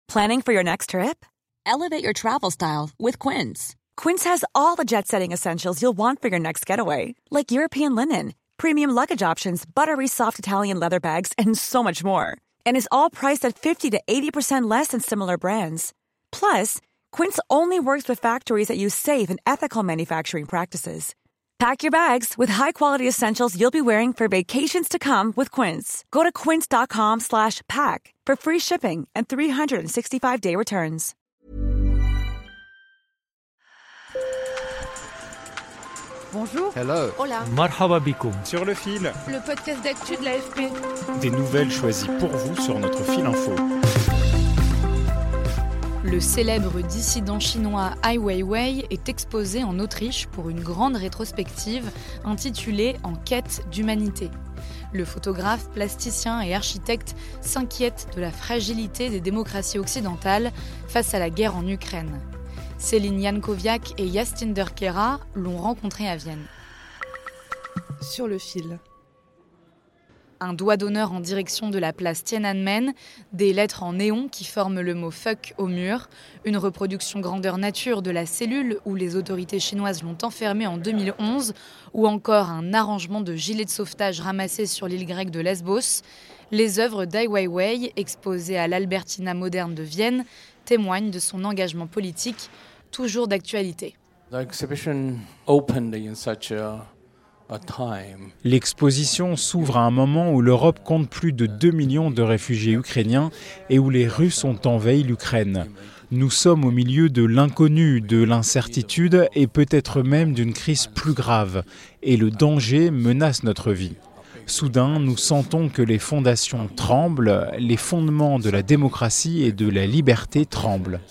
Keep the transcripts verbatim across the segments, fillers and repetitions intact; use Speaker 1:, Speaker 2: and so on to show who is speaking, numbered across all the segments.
Speaker 1: Planning for your next trip?
Speaker 2: Elevate your travel style with Quince.
Speaker 1: Quince has all the jet-setting essentials you'll want for your next getaway, like European linen, premium luggage options, buttery soft Italian leather bags, and so much more. And is all priced at fifty to eighty percent less than similar brands. Plus, Quince only works with factories that use safe and ethical manufacturing practices. Pack your bags with high-quality essentials you'll be wearing for vacations to come with Quince. Go to quince.com slash pack for free shipping and three sixty-five day returns.
Speaker 3: Bonjour.
Speaker 4: Hello.
Speaker 3: Hola.
Speaker 5: Marhaba bikoum.
Speaker 6: Sur le fil.
Speaker 3: Le podcast d'actu de l'A F P.
Speaker 6: Des nouvelles choisies pour vous sur notre fil info.
Speaker 7: Le célèbre dissident chinois Ai Weiwei est exposé en Autriche pour une grande rétrospective intitulée « En quête d'humanité ». Le photographe, plasticien et architecte s'inquiète de la fragilité des démocraties occidentales face à la guerre en Ukraine. Céline Jankowiak et Jastinder Kera l'ont rencontré à Vienne.
Speaker 3: Sur le fil.
Speaker 7: Un doigt d'honneur en direction de la place Tiananmen, des lettres en néon qui forment le mot « fuck » au mur, une reproduction grandeur nature de la cellule où les autorités chinoises l'ont enfermée en deux mille onze, ou encore un arrangement de gilets de sauvetage ramassés sur l'île grecque de Lesbos. Les œuvres d'Ai Weiwei, exposées à l'Albertina moderne de Vienne, témoignent de son engagement politique, toujours d'actualité.
Speaker 6: L'exposition s'ouvre à un moment où l'Europe compte plus de deux millions de réfugiés ukrainiens et où les Russes ont envahi l'Ukraine. Nous sommes au milieu de l'inconnu, de l'incertitude et peut-être même d'une crise plus grave. Et le danger menace notre vie. Soudain, nous sentons que les fondations tremblent, les fondements de la démocratie et de la liberté tremblent.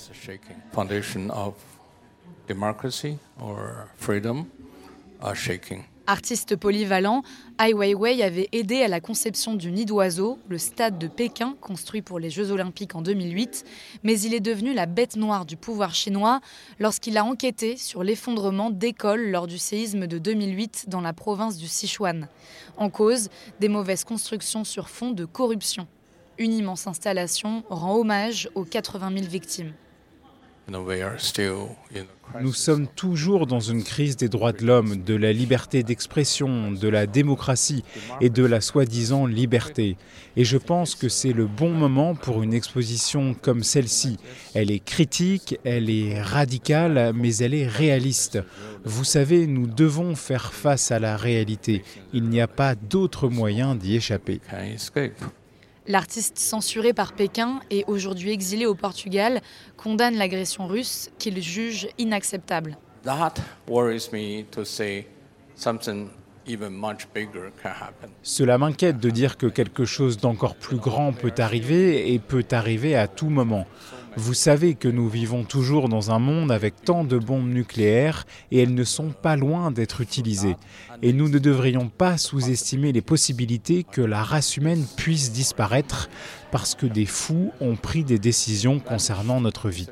Speaker 7: Artiste polyvalent, Ai Weiwei avait aidé à la conception du Nid d'Oiseau, le stade de Pékin construit pour les Jeux Olympiques en deux mille huit, mais il est devenu la bête noire du pouvoir chinois lorsqu'il a enquêté sur l'effondrement d'écoles lors du séisme de deux mille huit dans la province du Sichuan. En cause, des mauvaises constructions sur fond de corruption. Une immense installation rend hommage aux quatre-vingt mille victimes.
Speaker 6: Nous sommes toujours dans une crise des droits de l'homme, de la liberté d'expression, de la démocratie et de la soi-disant liberté. Et je pense que c'est le bon moment pour une exposition comme celle-ci. Elle est critique, elle est radicale, mais elle est réaliste. Vous savez, nous devons faire face à la réalité. Il n'y a pas d'autre moyen d'y échapper.
Speaker 7: L'artiste censuré par Pékin et aujourd'hui exilé au Portugal condamne l'agression russe qu'il juge inacceptable.
Speaker 6: Cela m'inquiète de dire que quelque chose d'encore plus grand peut arriver et peut arriver à tout moment. Vous savez que nous vivons toujours dans un monde avec tant de bombes nucléaires et elles ne sont pas loin d'être utilisées. Et nous ne devrions pas sous-estimer les possibilités que la race humaine puisse disparaître parce que des fous ont pris des décisions concernant notre vie.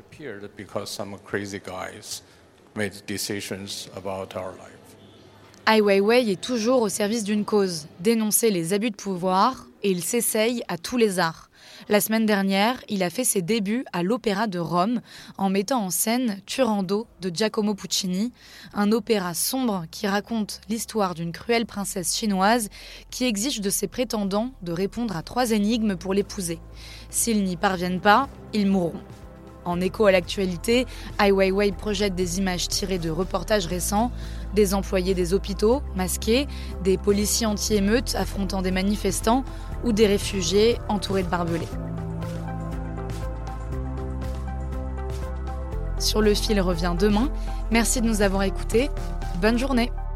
Speaker 7: Ai Weiwei est toujours au service d'une cause, dénoncer les abus de pouvoir, et il s'essaye à tous les arts. La semaine dernière, il a fait ses débuts à l'Opéra de Rome en mettant en scène Turando de Giacomo Puccini, un opéra sombre qui raconte l'histoire d'une cruelle princesse chinoise qui exige de ses prétendants de répondre à trois énigmes pour l'épouser. S'ils n'y parviennent pas, ils mourront. En écho à l'actualité, Ai Weiwei projette des images tirées de reportages récents, des employés des hôpitaux masqués, des policiers anti-émeutes affrontant des manifestants ou des réfugiés entourés de barbelés. Sur le fil revient demain. Merci de nous avoir écoutés. Bonne journée.